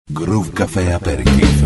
Groove Café Aperitif.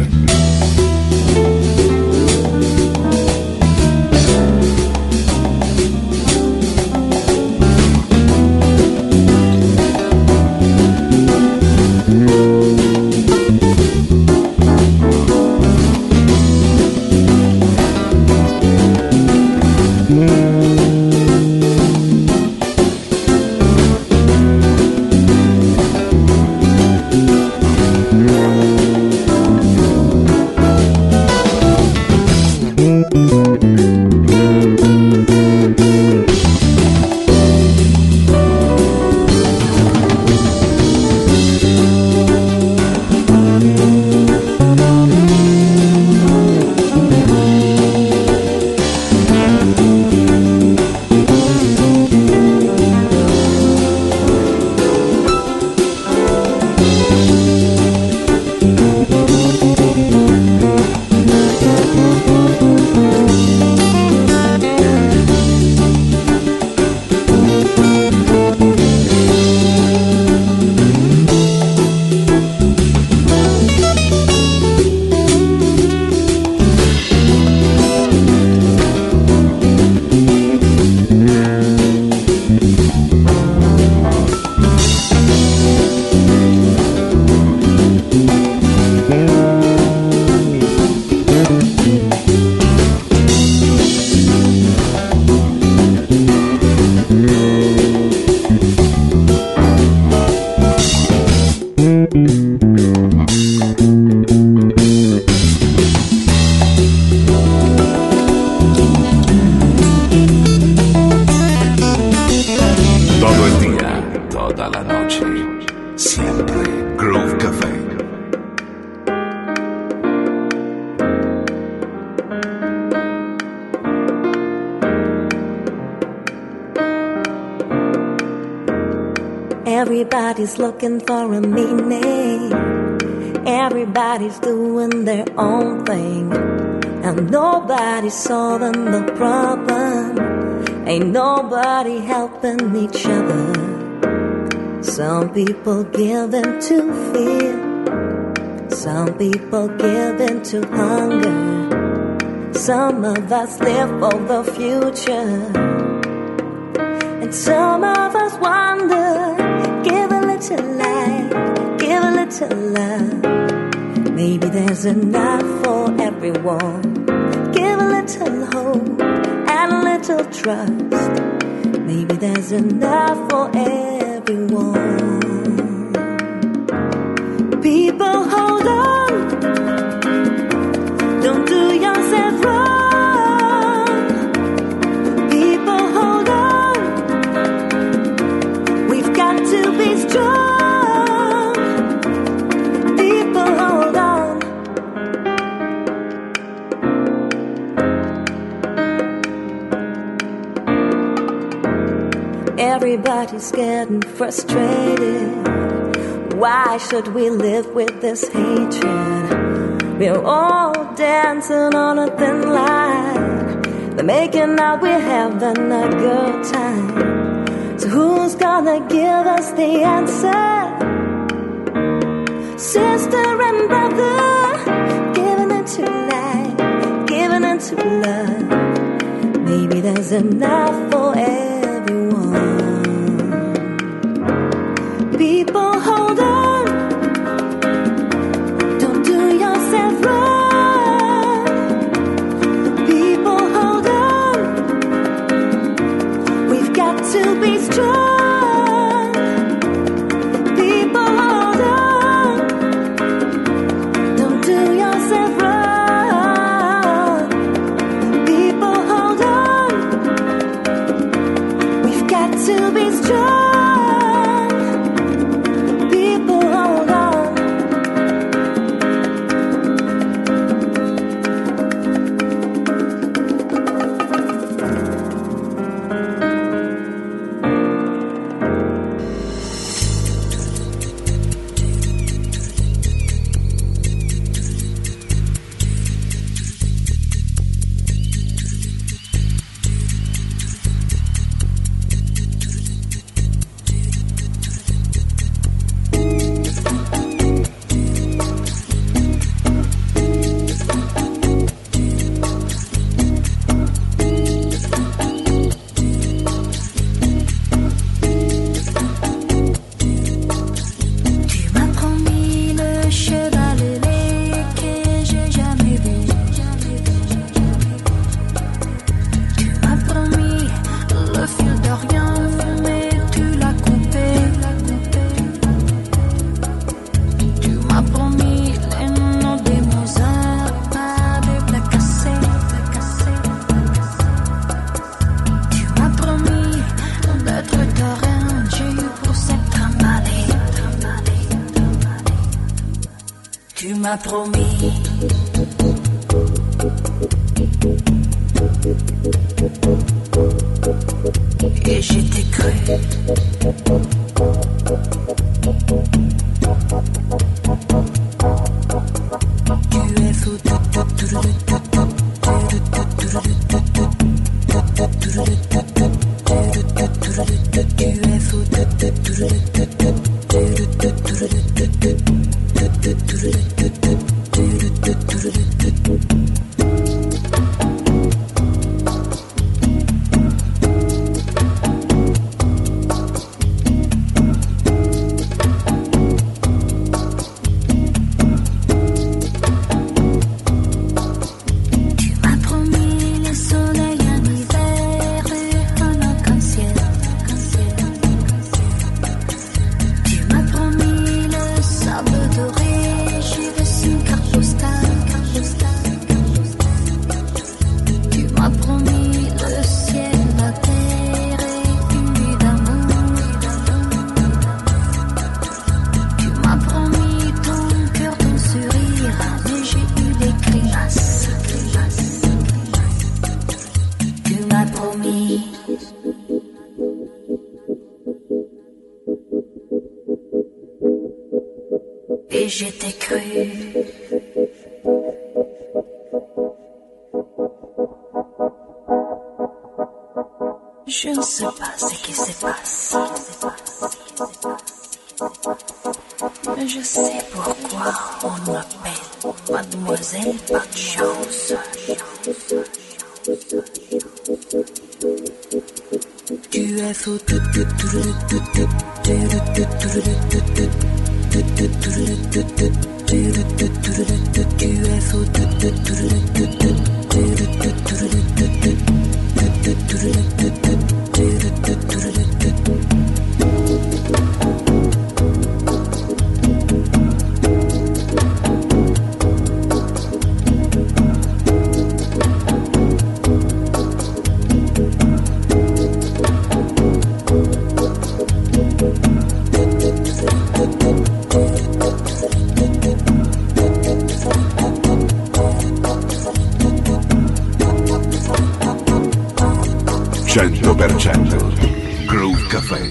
Everybody's looking for a meaning. Everybody's doing their own thing. And nobody's solving the problem. Ain't nobody helping each other. Some people give in to fear. Some people give in to hunger. Some of us live for the future. And some of us wonder. Give a little light, give a little love. Maybe there's enough for everyone. Give a little hope and a little trust. Maybe there's enough for everyone. People, hold on. Don't do yourself wrong. People, hold on. We've got to be strong. People, hold on. Everybody's getting frustrated. Why should we live with this hatred? We're all dancing on a thin line. They're making out we're having a good time. So who's gonna give us the answer? Sister and brother, giving into light, giving into love. Maybe there's enough for everyone. People, hold on. Don't do yourself wrong. People, hold on. We've got to be strong. People, hold on. Don't do yourself wrong. People, hold on. Tu m'as promis. Et j'étais cru. Tu es fou. Et j'étais cru. Je ne sais pas ce qui se passe. Mais je sais pourquoi on m'appelle Mademoiselle Pas de Chance. Tu es fou. Groove Café.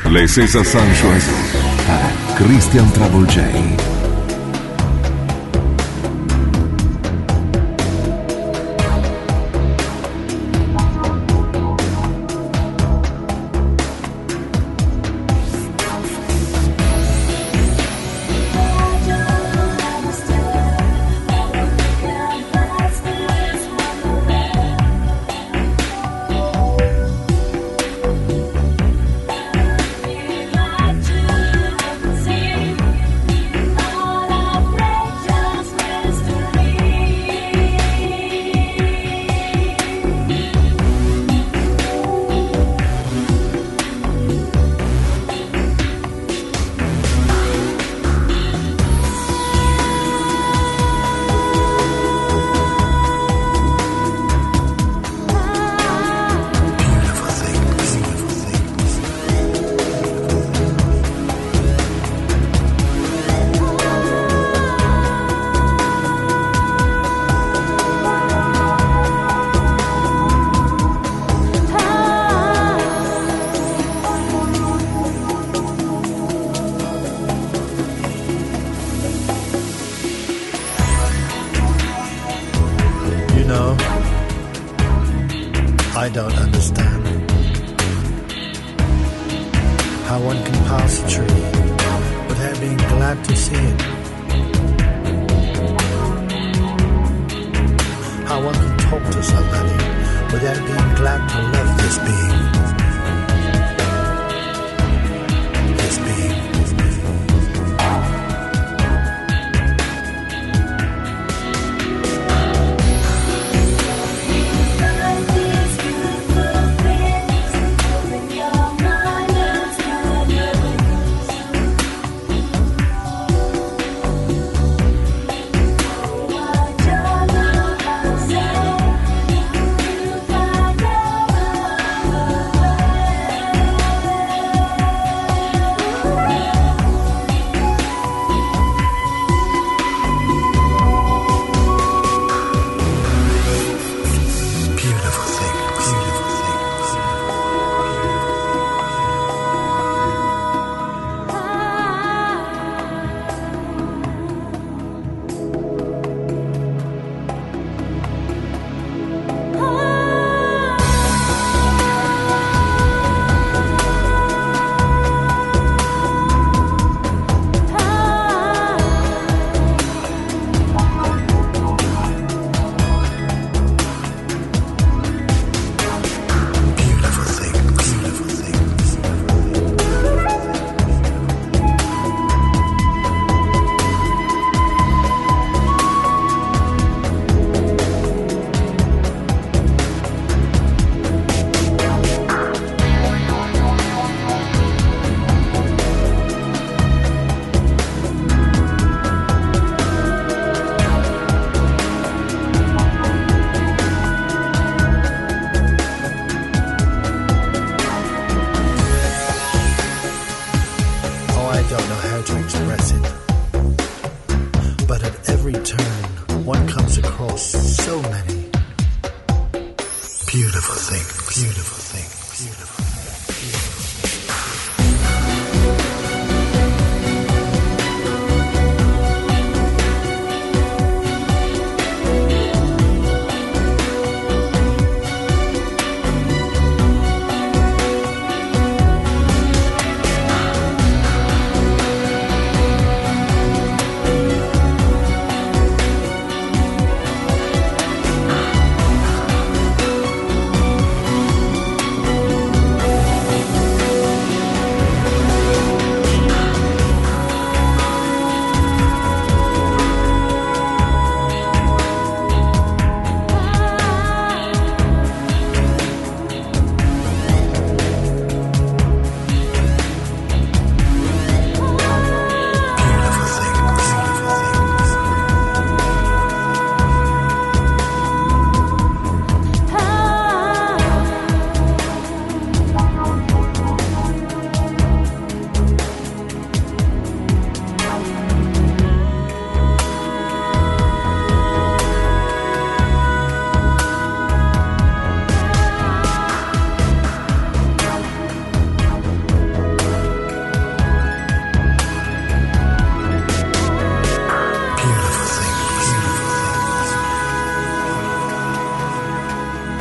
Les César Sanchez è Christian Trouble J. I don't understand how one can pass a tree without being glad to see it. How one can talk to somebody without being glad to love this being. This being.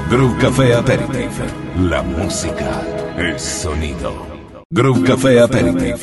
Groove Café Aperitif. La música, el sonido. Groove Café Aperitif.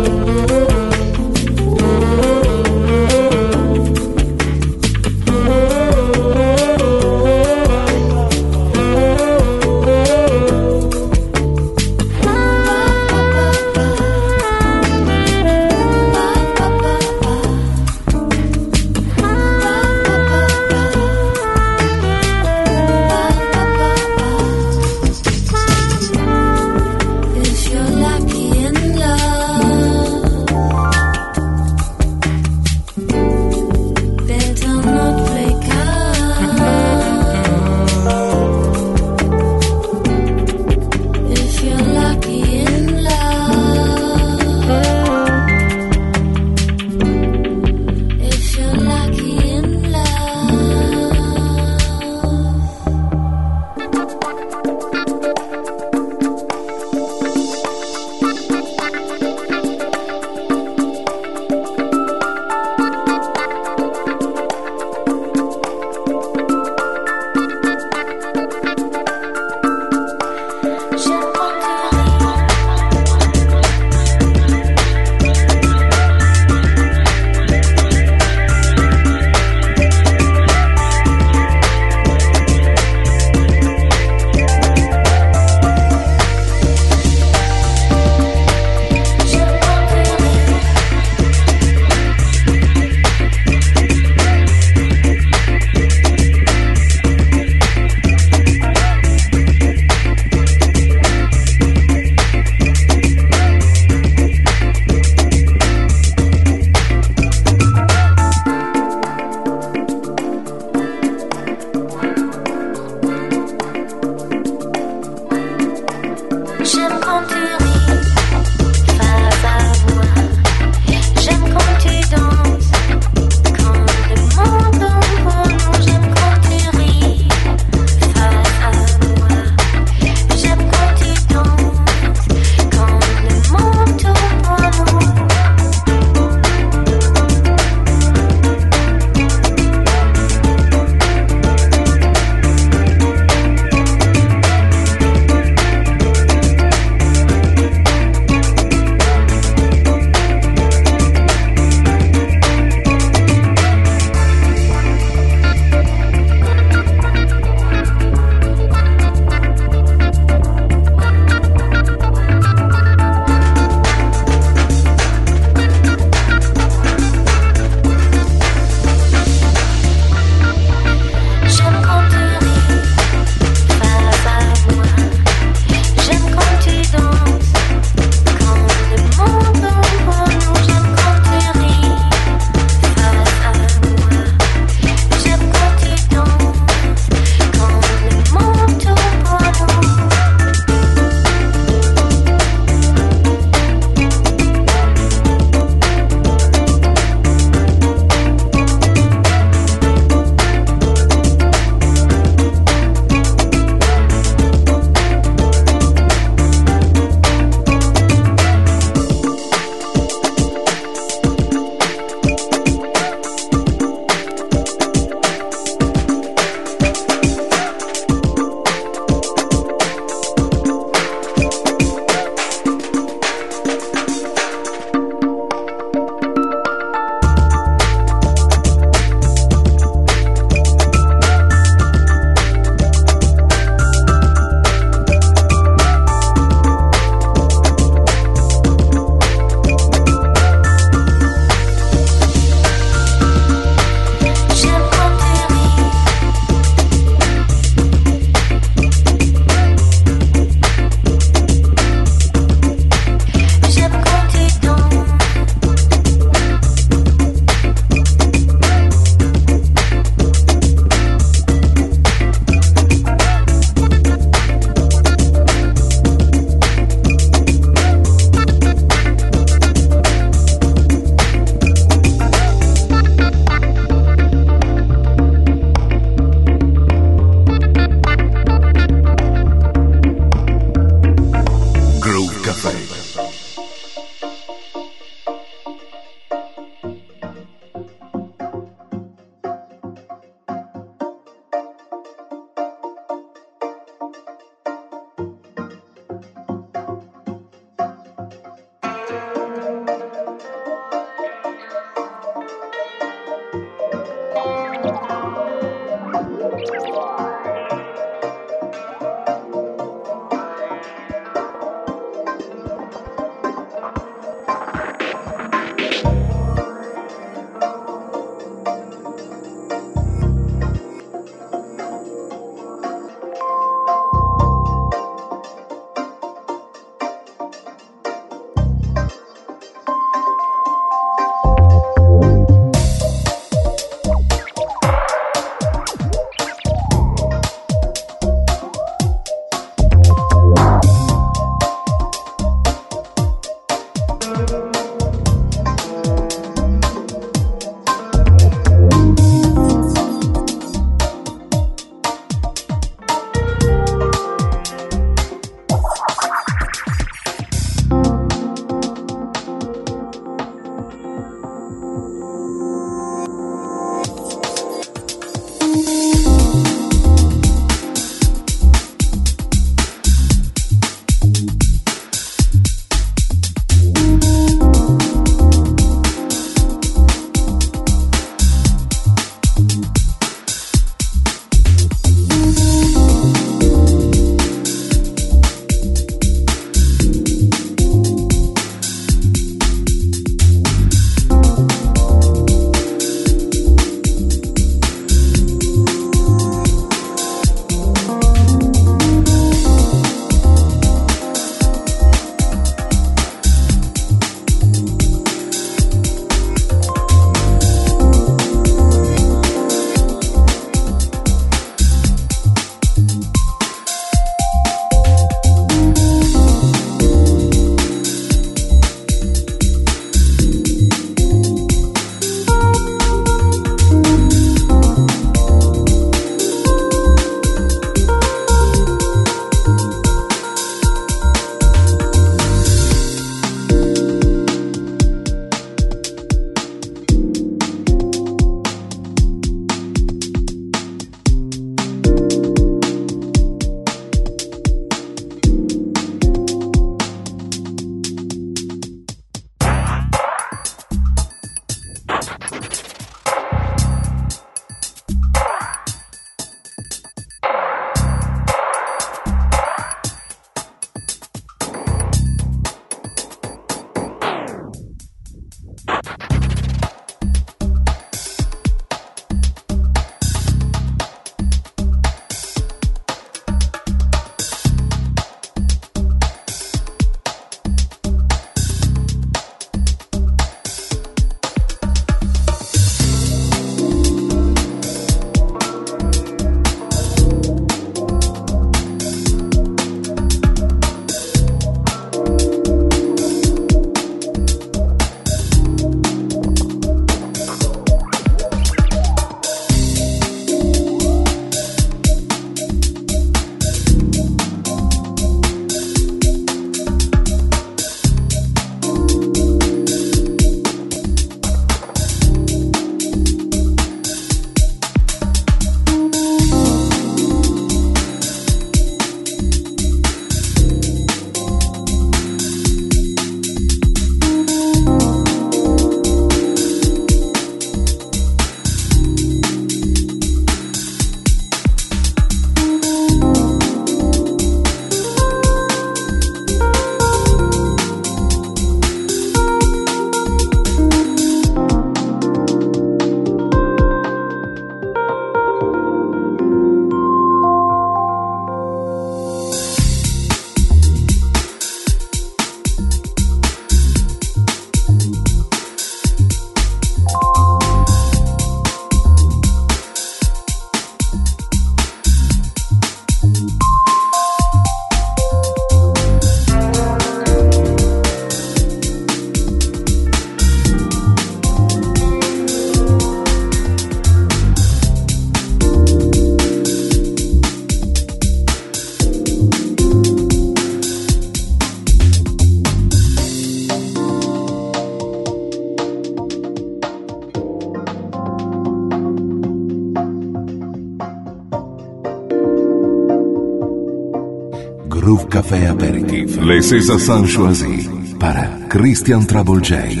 Groove Café Aperitif. Les César sont choisis para Christian Trouble J.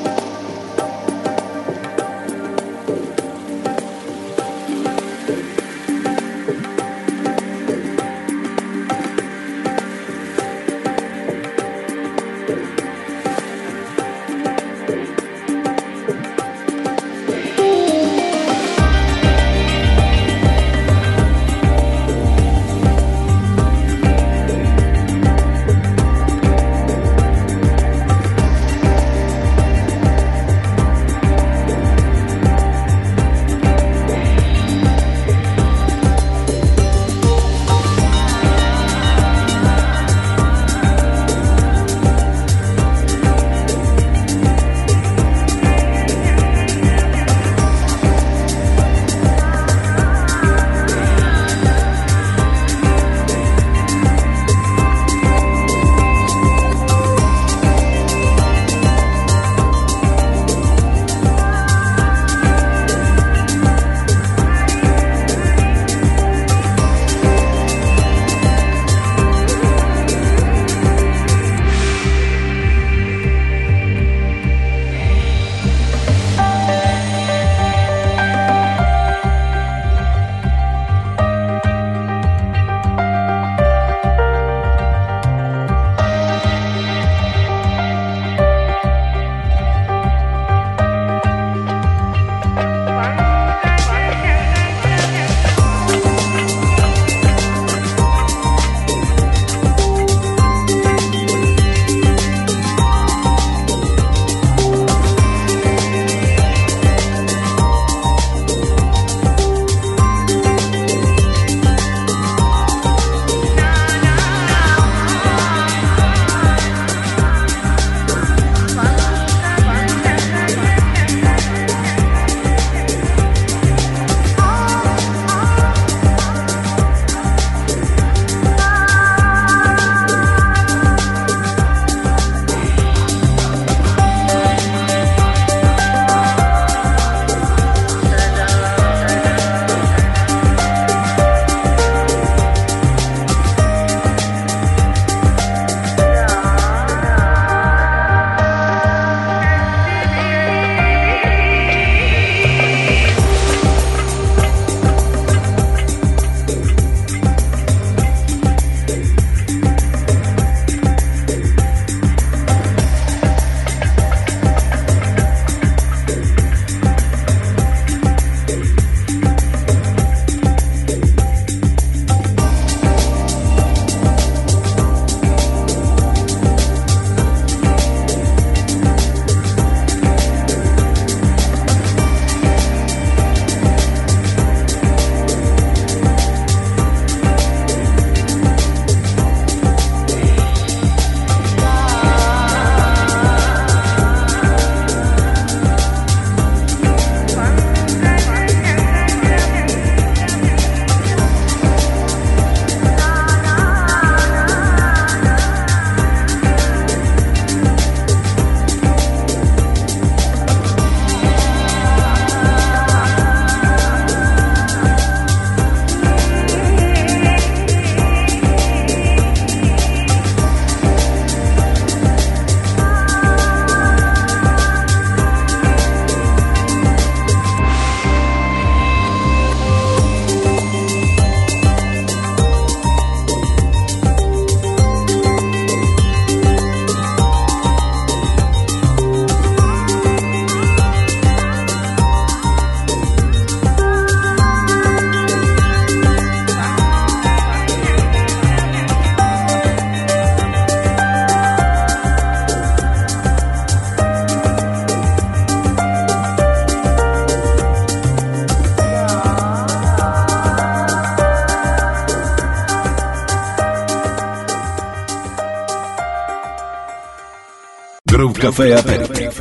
Groove Café Aperitif.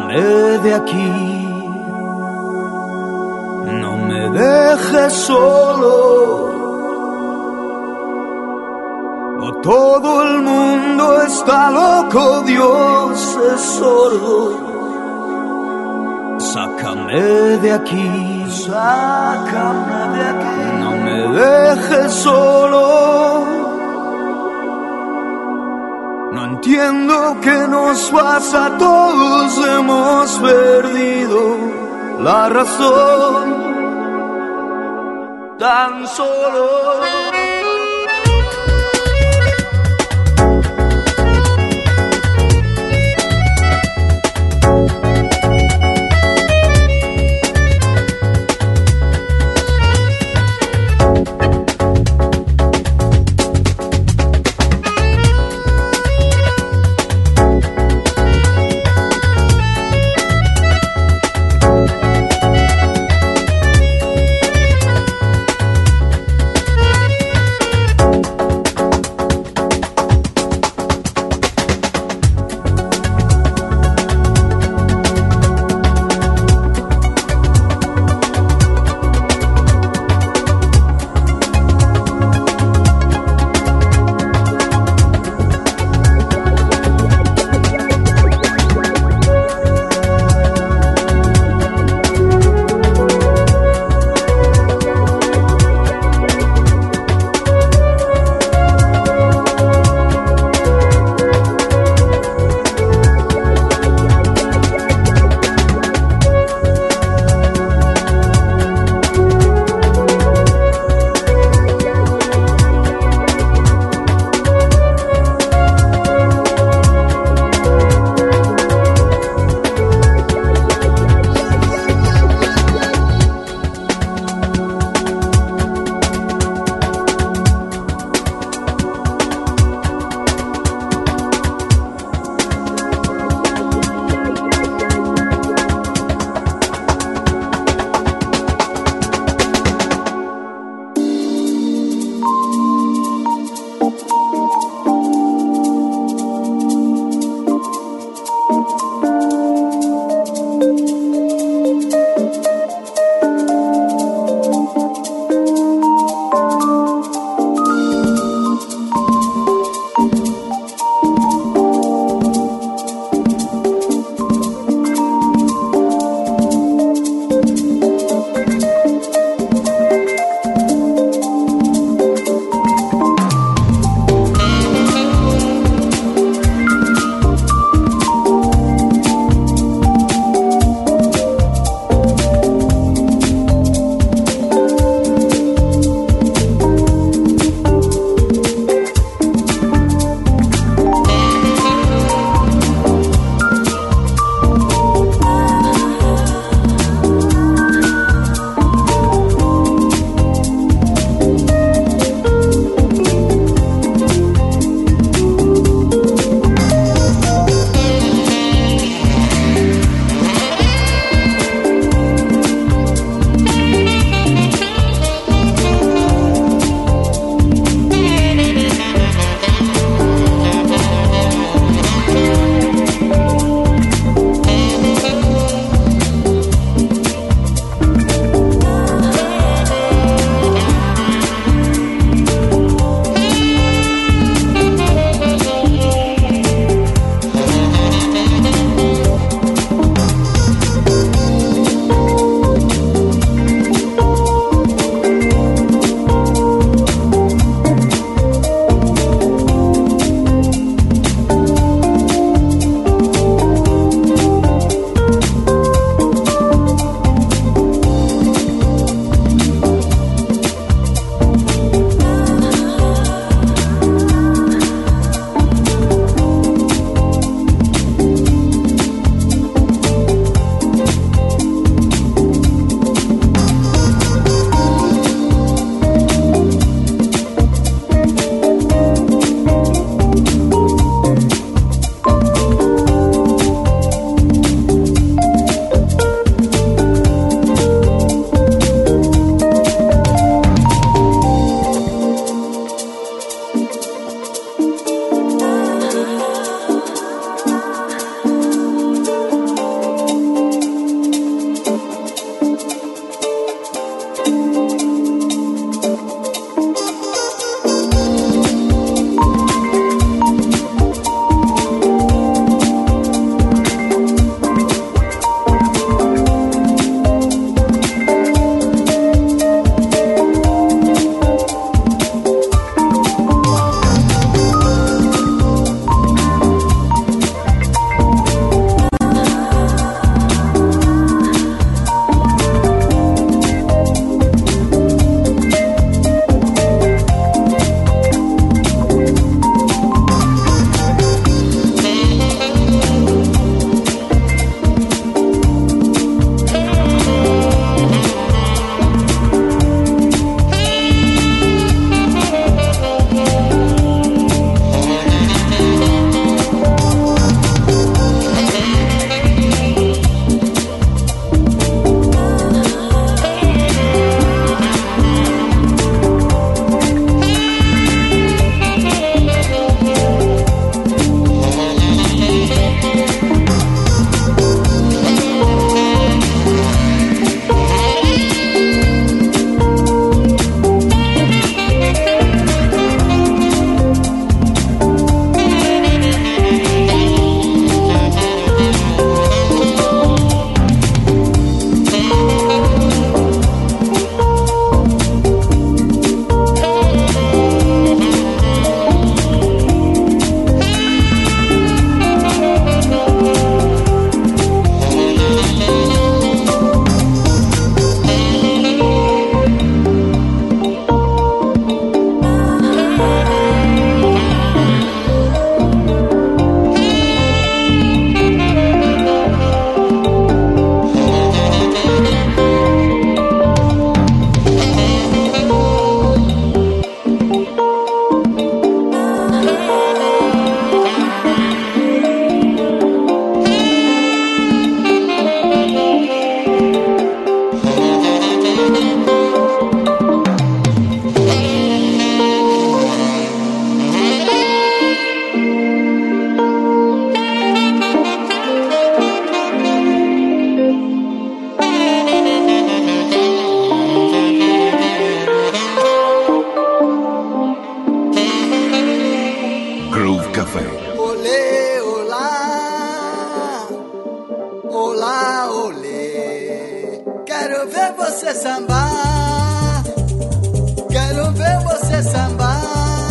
Sácame de aquí, no me dejes solo. O todo el mundo está loco, Dios es sordo. Sácame de aquí, sácame de aquí, no me dejes solo. No entiendo qué nos pasa, todos hemos perdido la razón, tan solo. você sambar, quero ver você sambar.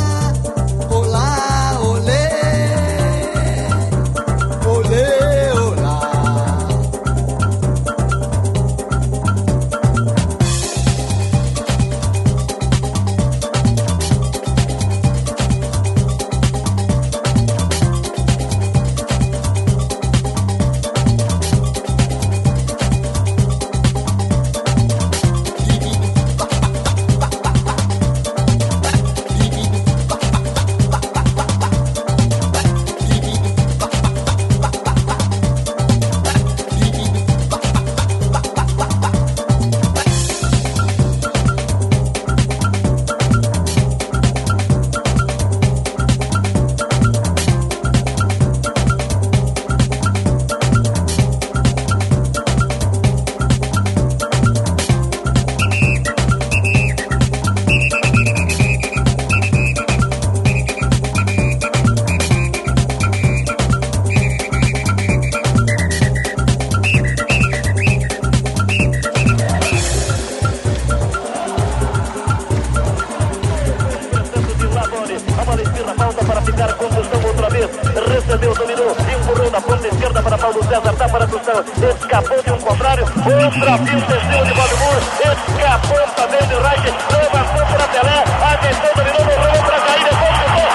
Olá, olê, olê, olá. Recebeu, dominou, empurrou na ponta esquerda para Paulo César, dá para Tostão, escapou de um contrário, outra pista em cima de Valdemur, escapou também de Reich, levantou para Pelé, atenção, dominou, rolou para cair, depois chutou.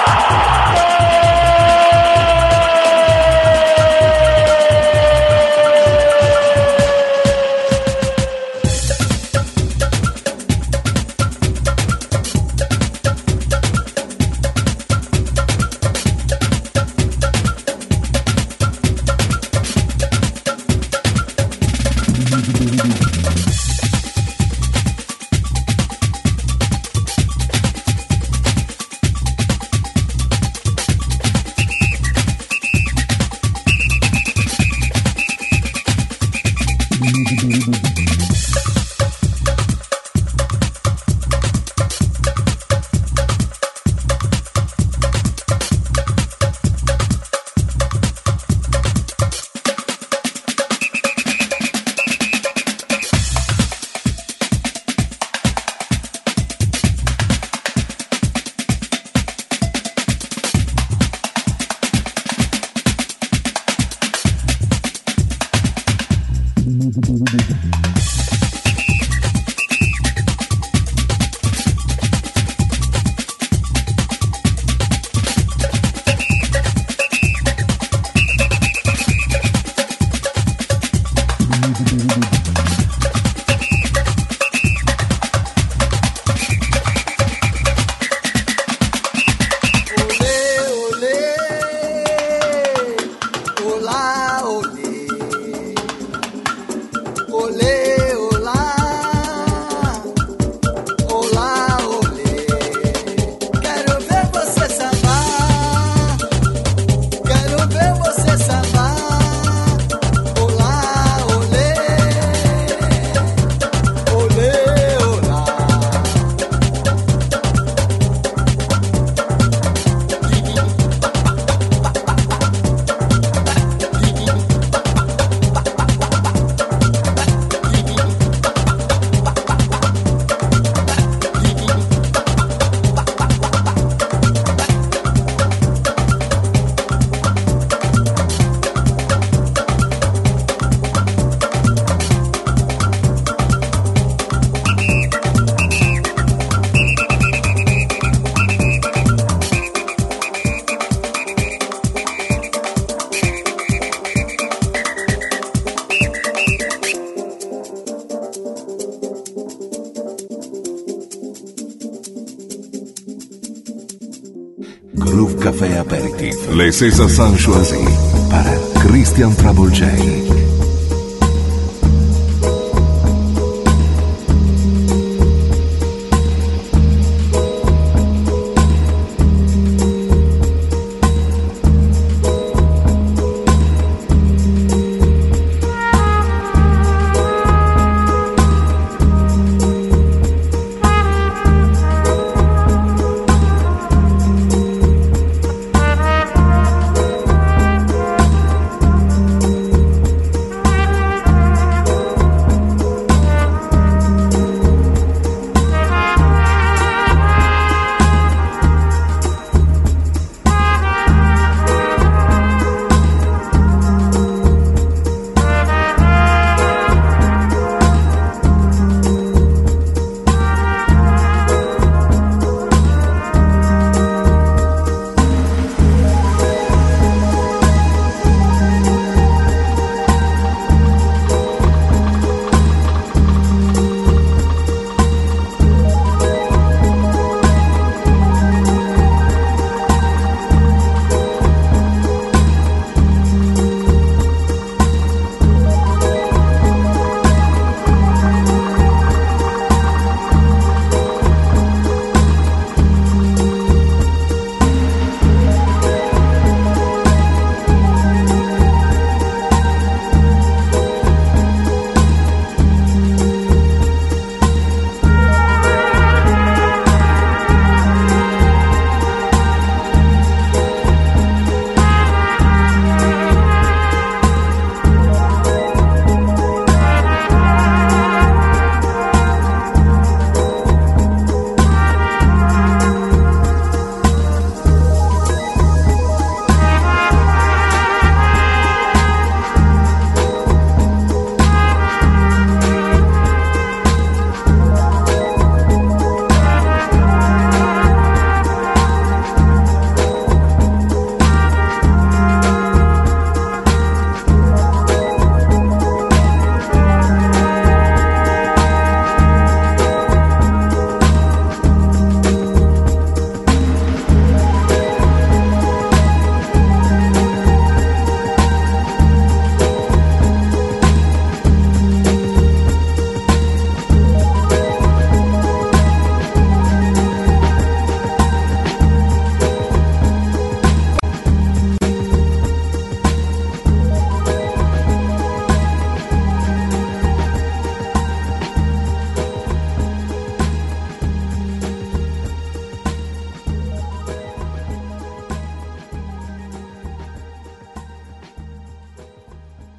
Groove Café Aperitif. Les sensations choisies par Christian Travolgei.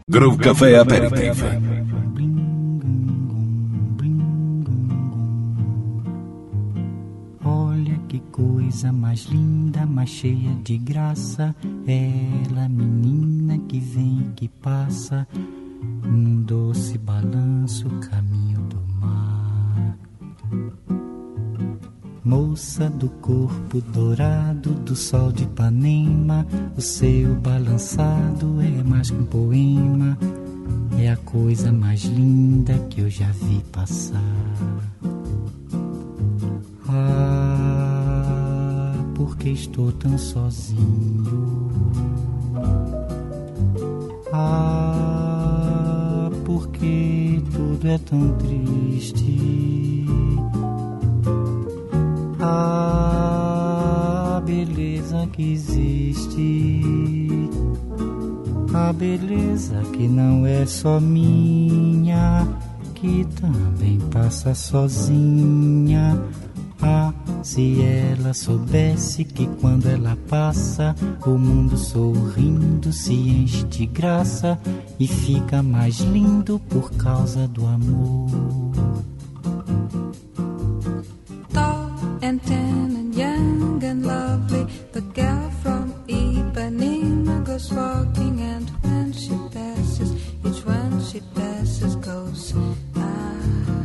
Groove Café Aperitif. Olha que coisa mais linda, mais cheia de graça. Ela, menina que vem e que passa, num doce balanço, caminho do mar. Moça do corpo dourado do sol de Ipanema, o seu balançado é mais que um poema, é a coisa mais linda que eu já vi passar. Ah, porque estou tão sozinho? Ah, porque tudo é tão triste? A beleza que existe, a beleza que não é só minha, que também passa sozinha. Ah, se ela soubesse que quando ela passa, o mundo sorrindo se enche de graça e fica mais lindo por causa do amor. And tan and young and lovely, the girl from Ipanema goes walking, and when she passes, each one she passes goes ah.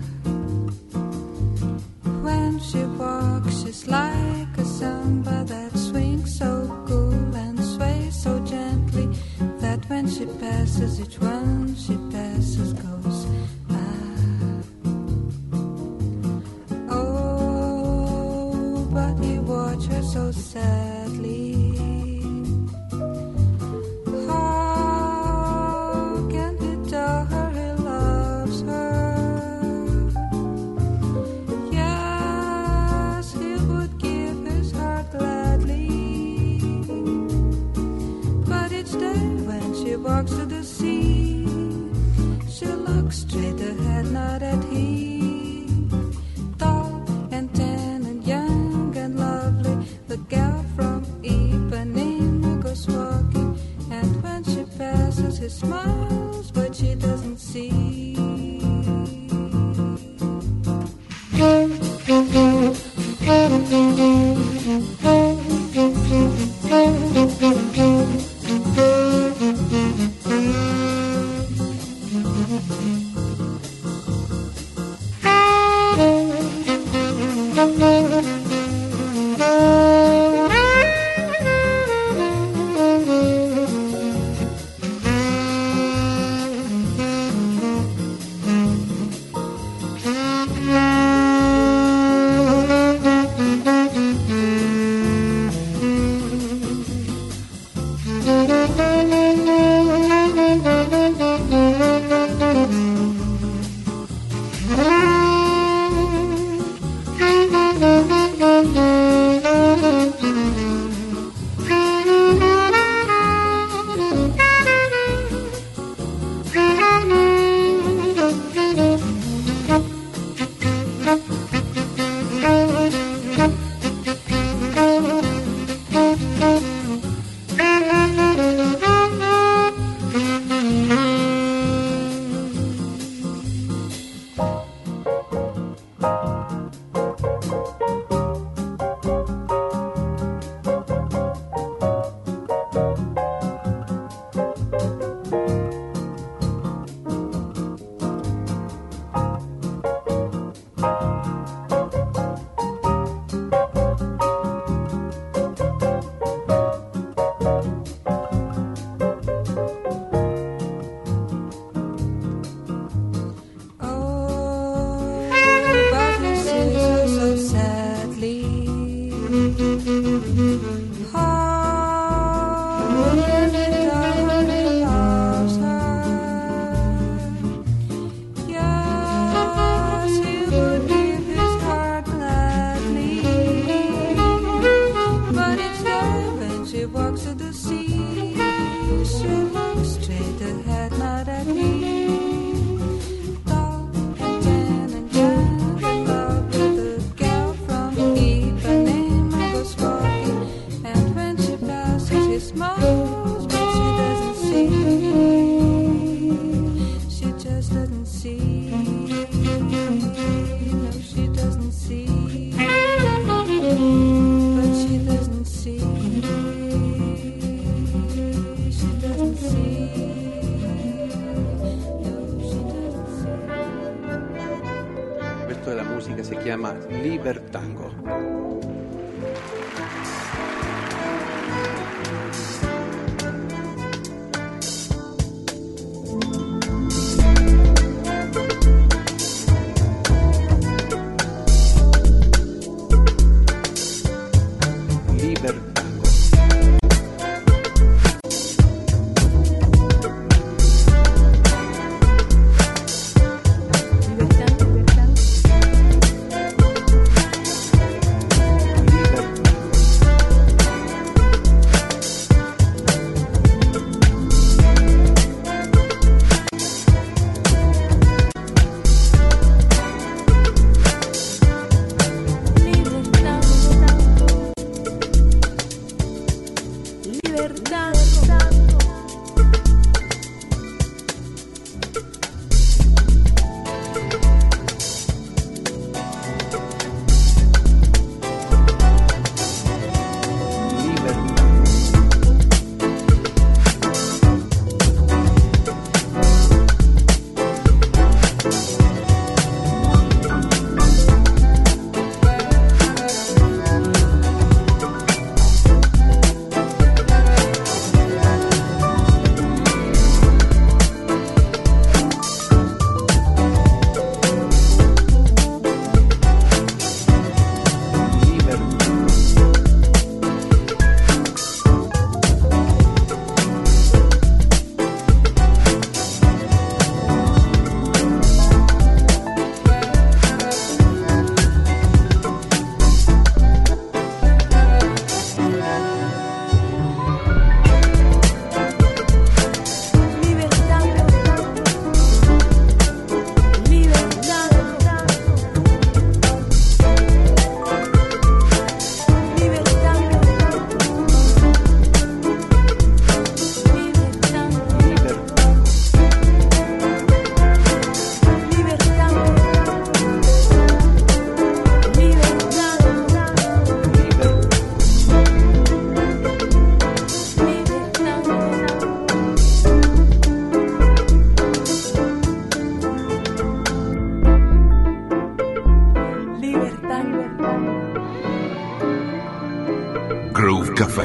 When she walks, she's like a samba that swings so cool and sways so gently, that when she passes, each one she passes goes ah. But he watched her so sadly. How can he tell her he loves her? Yes, he would give his heart gladly. But each day when she walks to the sea, she looks straight ahead, not at him. Tall and tan and young and lovely, the gal from Ipanema goes walking, and when she passes, he smiles, but she doesn't see. chiama Libertango. Groove Café.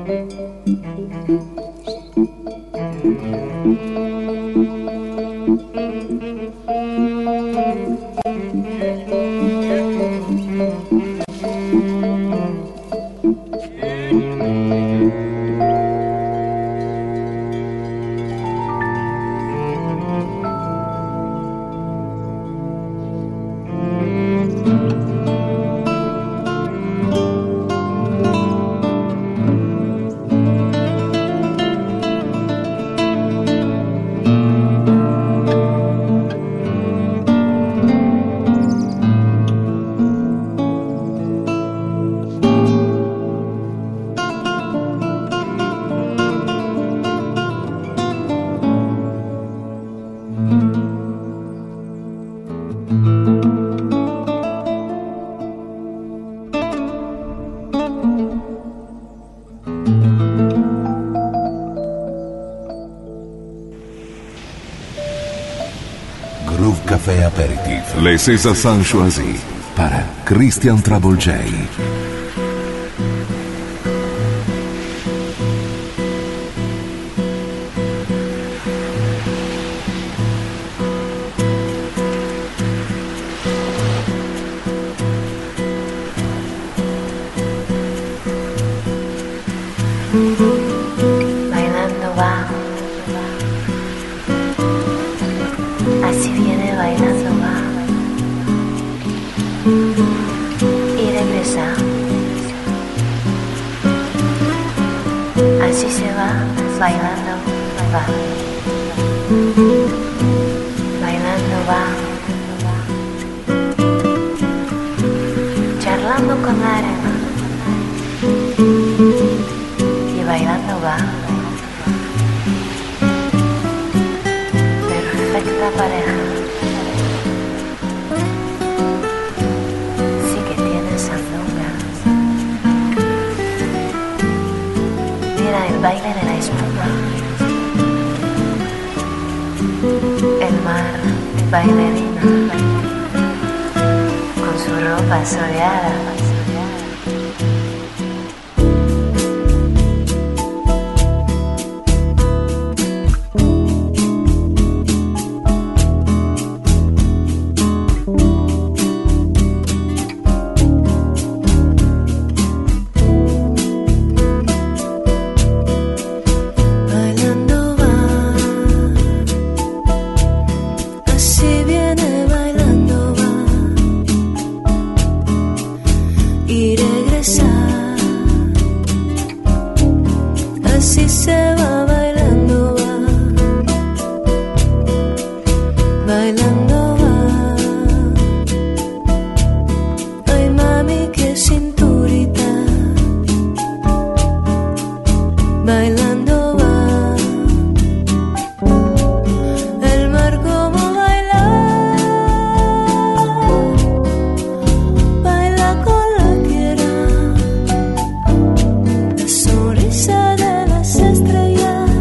Café Aperitif, les César sont choisis para Christian Travolgei. Bailando va, así viene bailando va, y regresa, así se va, bailando va, bailando va, charlando con la arena. Bailando va, perfecta pareja, sí que tiene sandunga. Mira el baile de la espuma, el mar bailarina, con su ropa soleada. Sonrisa de las estrellas.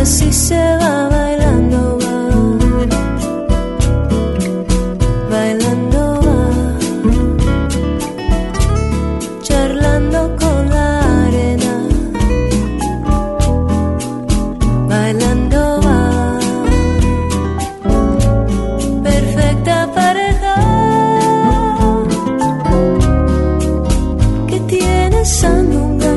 Así se va bailando, bailando va, charlando con la arena, bailando va, perfecta pareja que tiene sandunga.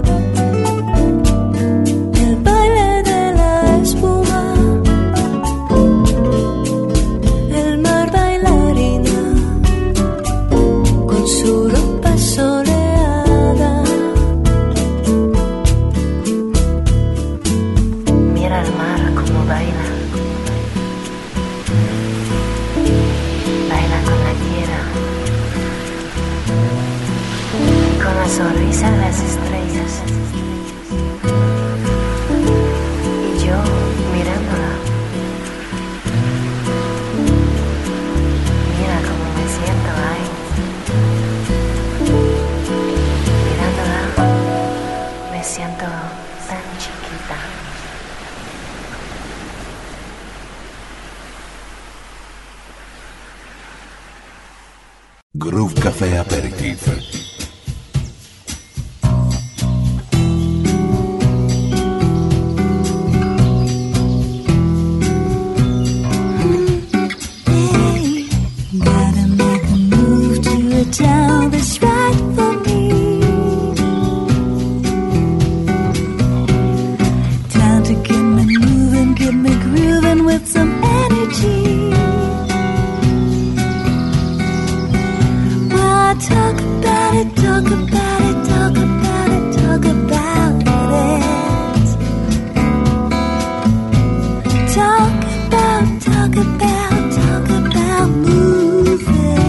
Sonrisa de las estrellas y yo mirándola. Mira cómo me siento ahí, mirándola, me siento tan chiquita. Groove Café Aperitif. Town that's right for me. Time to get me moving, get me grooving with some energy. Well, I talk about it, talk about it, talk about it, talk about it. Talk about moving.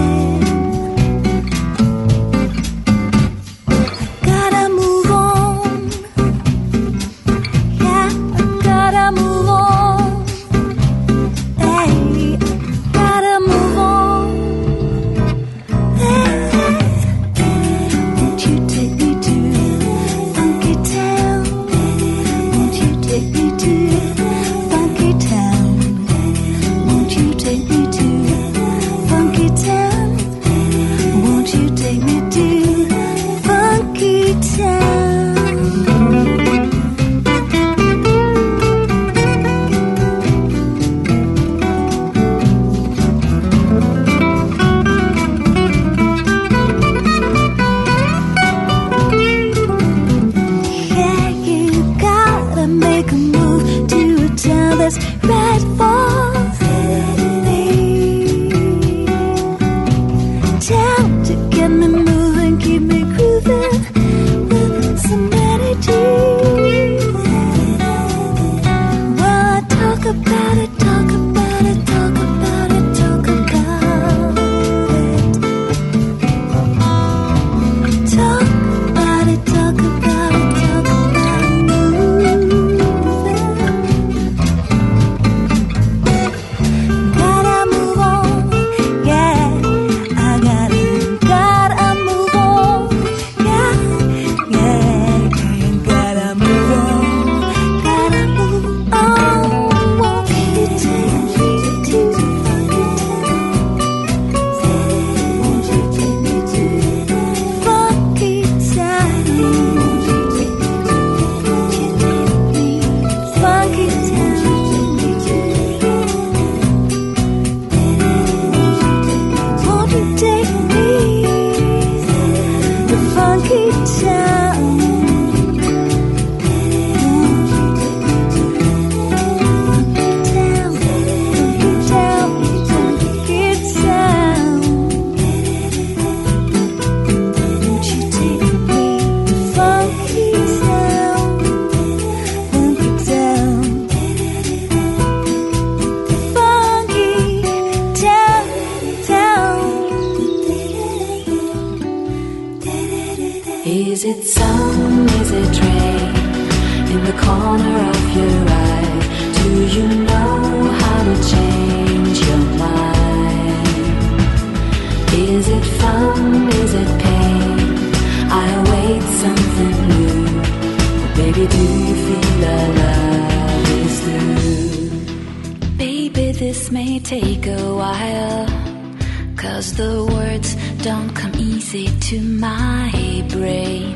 this may take a while, 'cause the words don't come easy to my brain.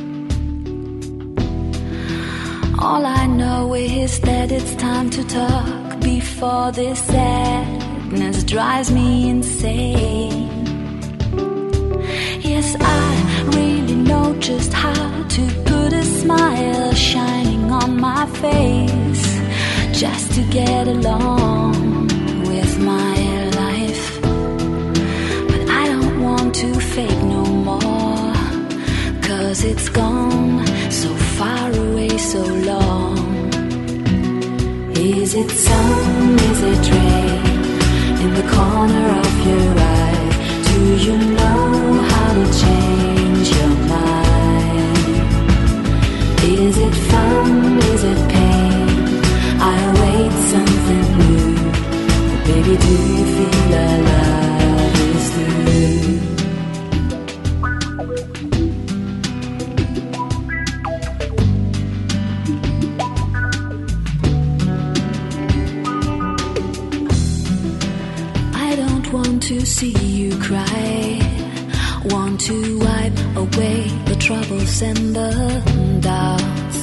All I know is that it's time to talk before this sadness drives me insane. Yes, I really know just how to put a smile shining on my face, just to get along with my life. But I don't want to fake no more, 'cause it's gone so far away, so long. Is it sun, is it rain in the corner of your eye? Do you know how to change your mind? Is it fun, is it pain? I await something new. Baby, do you feel our love is through? I don't want to see you cry, want to wipe away the troubles and the doubts.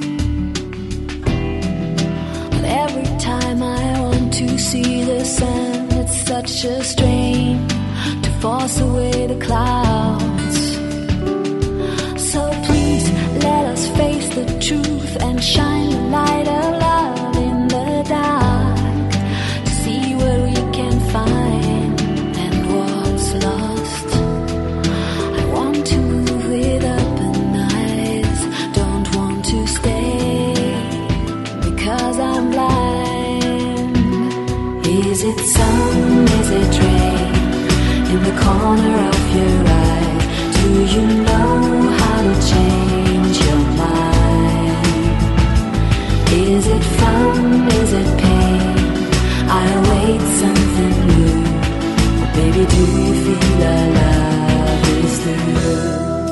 But every time I want to see the sun, it's such a strain to force away the clouds. So please let us face the truth and shine the light of love in the dark, to see what we can find and what's lost. I want to move with open eyes, don't want to stay because I'm blind. Is it sun, is it rain in the corner of your eye? Do you know how to change your mind? Is it fun, is it pain? I await something new. Baby, do you feel our love is through?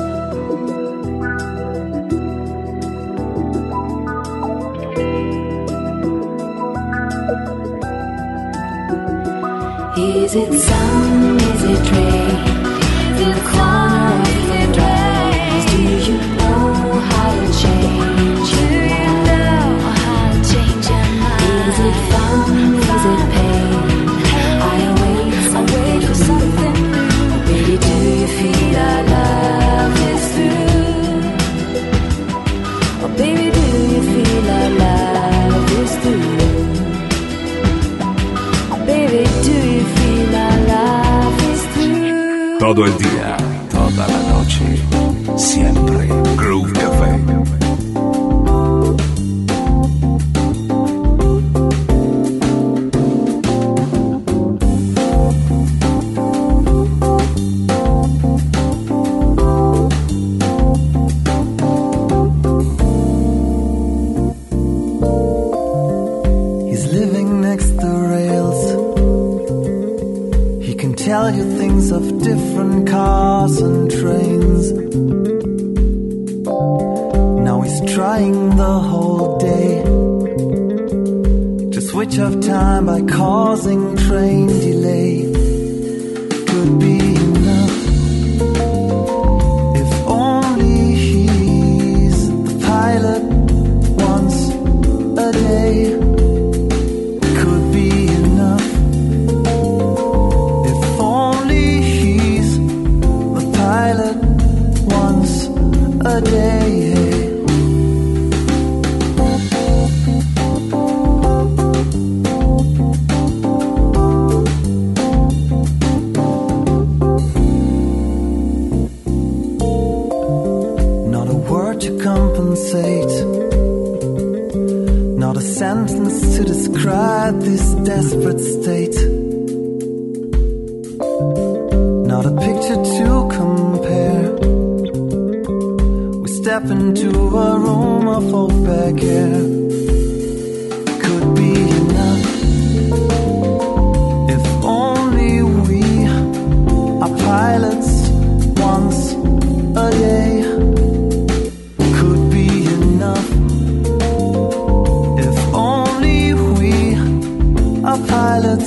Is it sun, is it rain in the corner of your eyes? Do you know how to change your mind? Is it fun, is it pain? I wait for something new. Baby, do you feel our love is through? Oh baby, do you feel our love is through? Oh baby, do you feel our love is through? Todo el día, toda la noche, siempre Groove Café. He's living next to rails. He can tell you things of different cars and trains. Now he's trying the whole day to switch off time by causing train delay. Could be enough if only he's the pilot once a day. Could be enough if only he's the pilot once a day. Not a word to compensate, not a sentence to describe this desperate state, not a picture to compare. We step into a room of opaque air. Could be enough if only we are pilots once a day. Could be enough if only we are pilots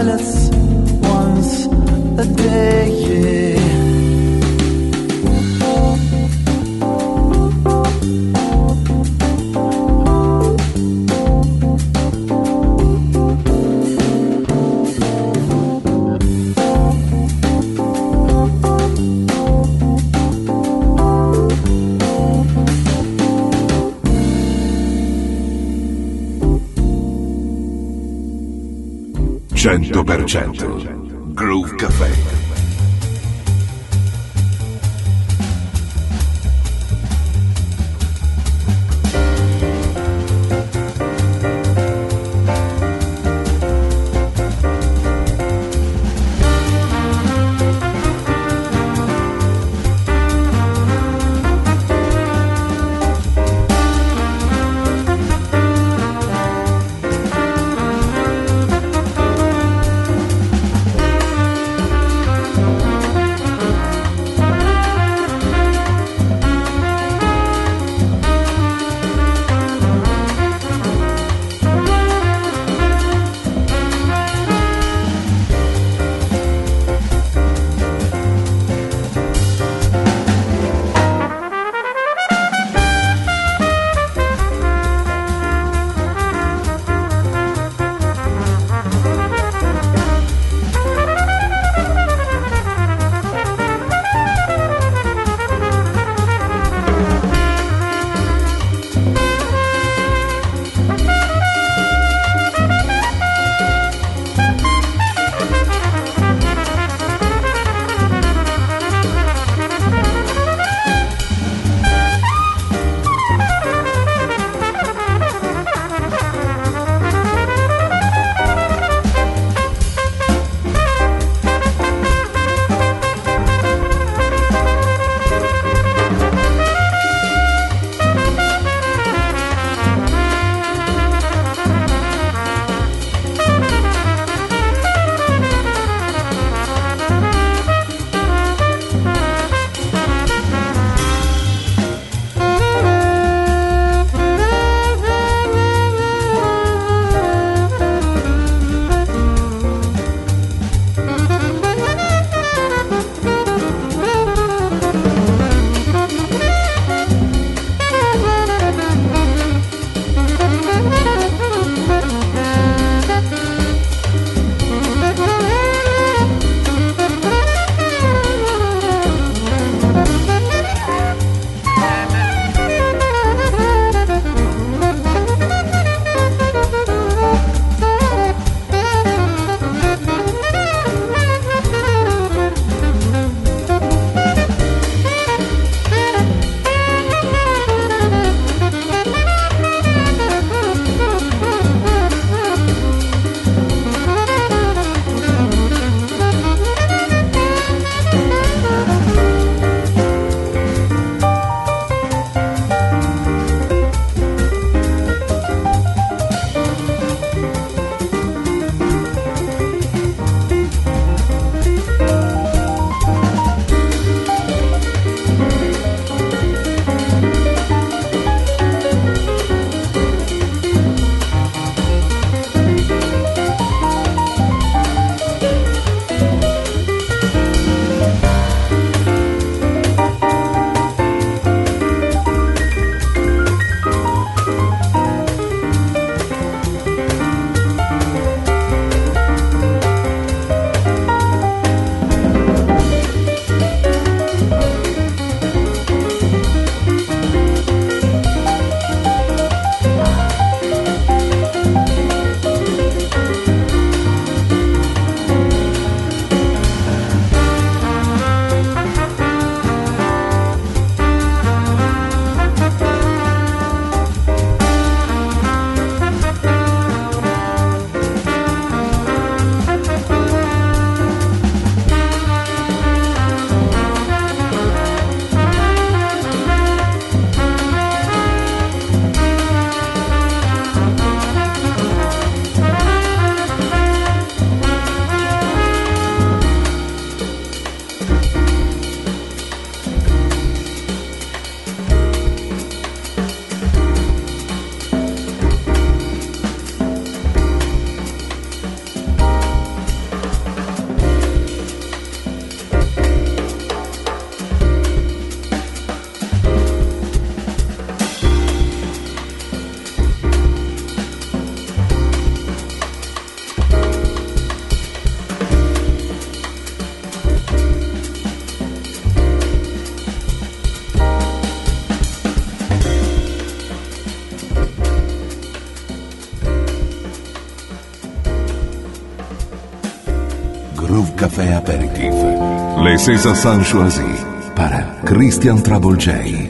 pilots once a day, yeah. Groove Café. Groove Café Aperitif. Les César sont choisis par Christian Trouble J.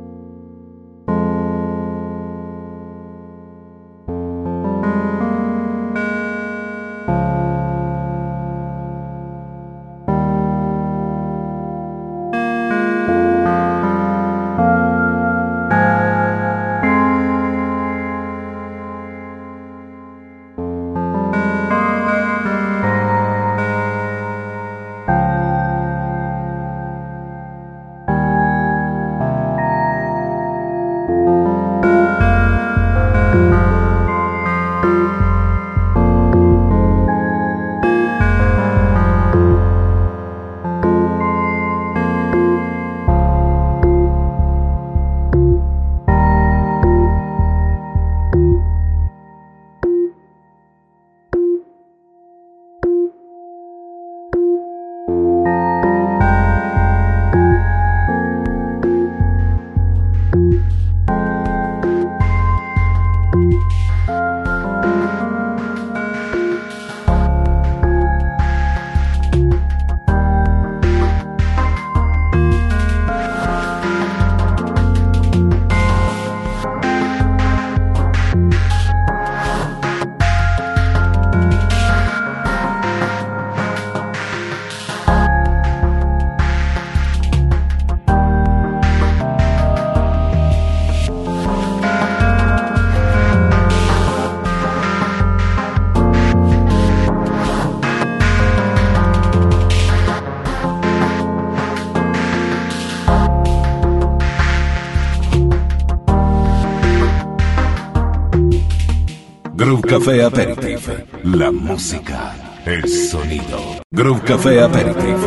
Groove Café Aperitif. La música, el sonido. Groove Café Aperitif.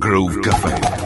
Groove Café.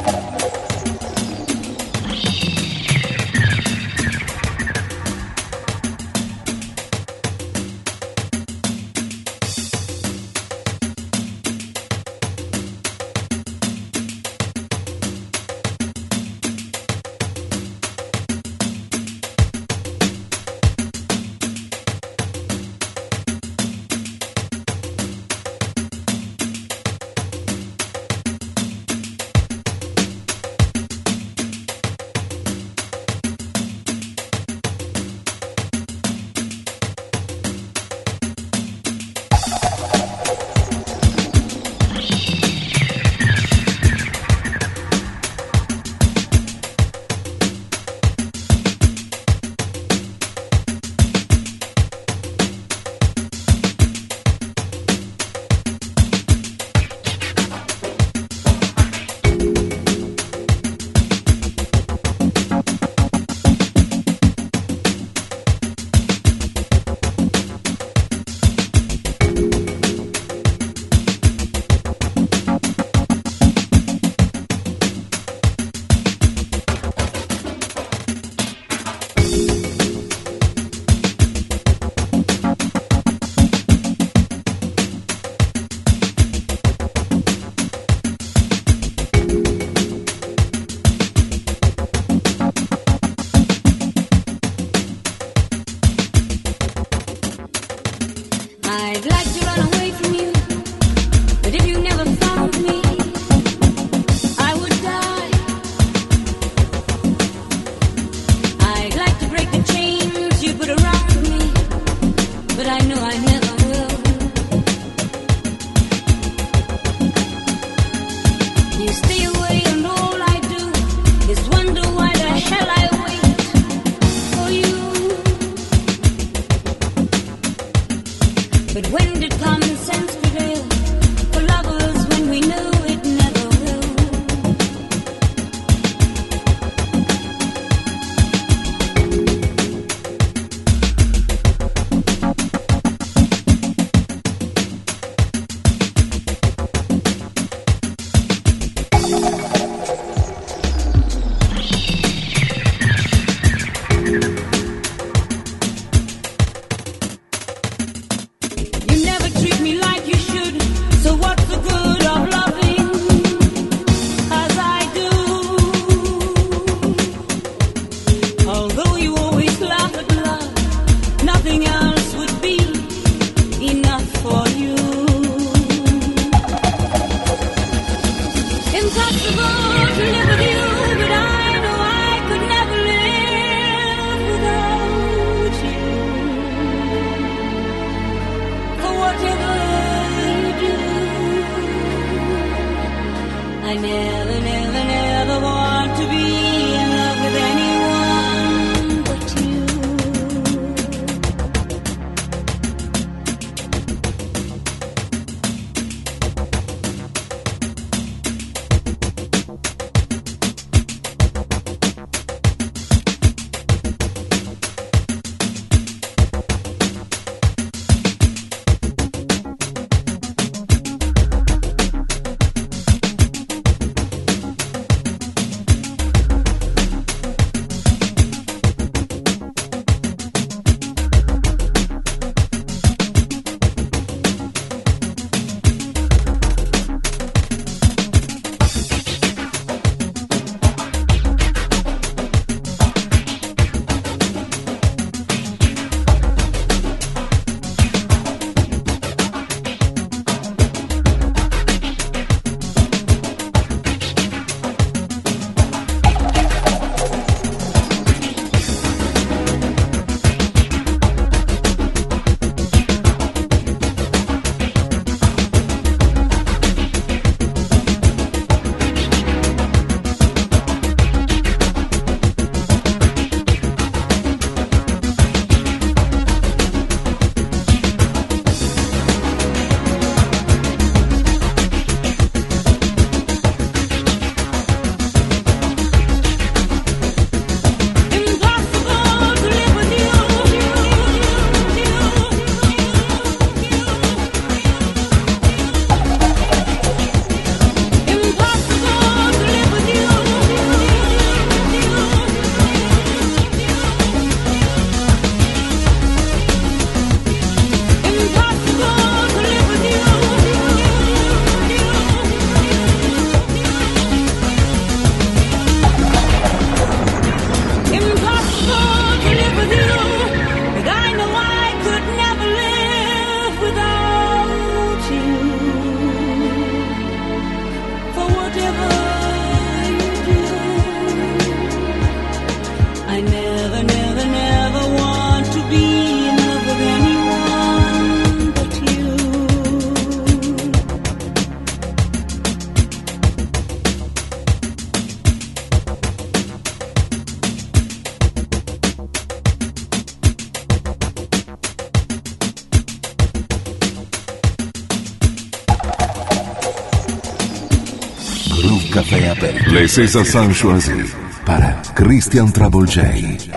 Café Aperitif. Les César sont choisis para Christian Trouble J.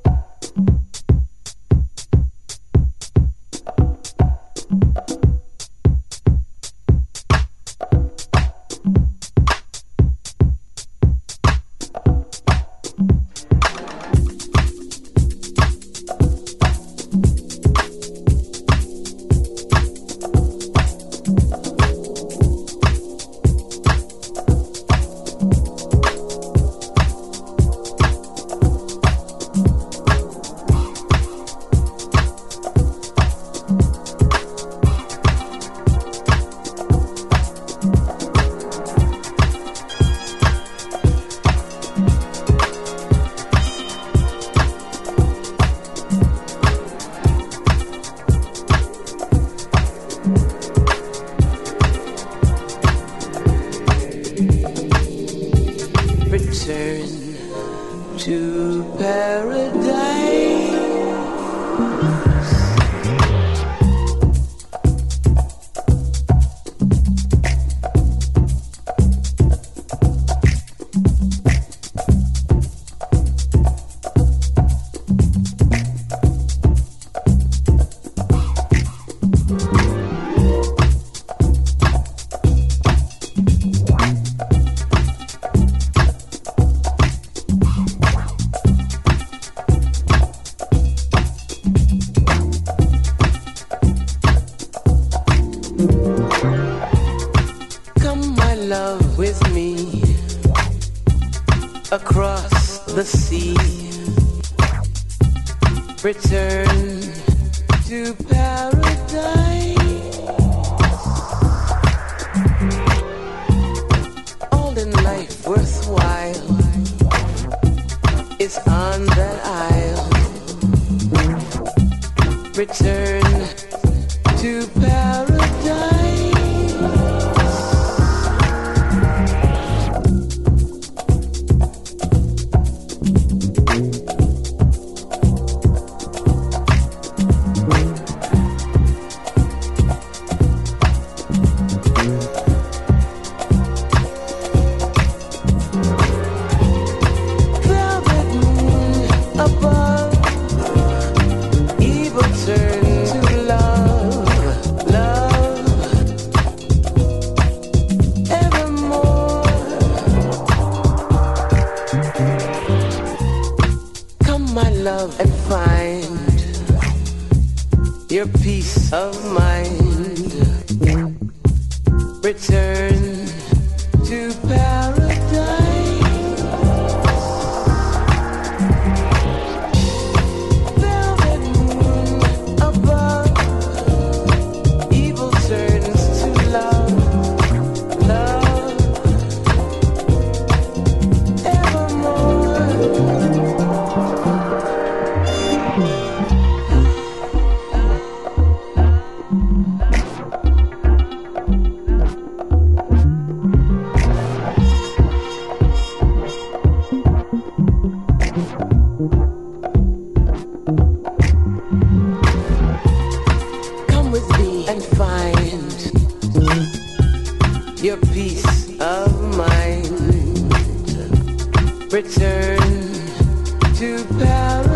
Return to paradise. All in life worthwhile is on that isle. Return to paradise. Your peace of mind. Return to paradise. Velvet moon above. Evil turns to love. Love evermore. Your peace of mind. Return to paradise.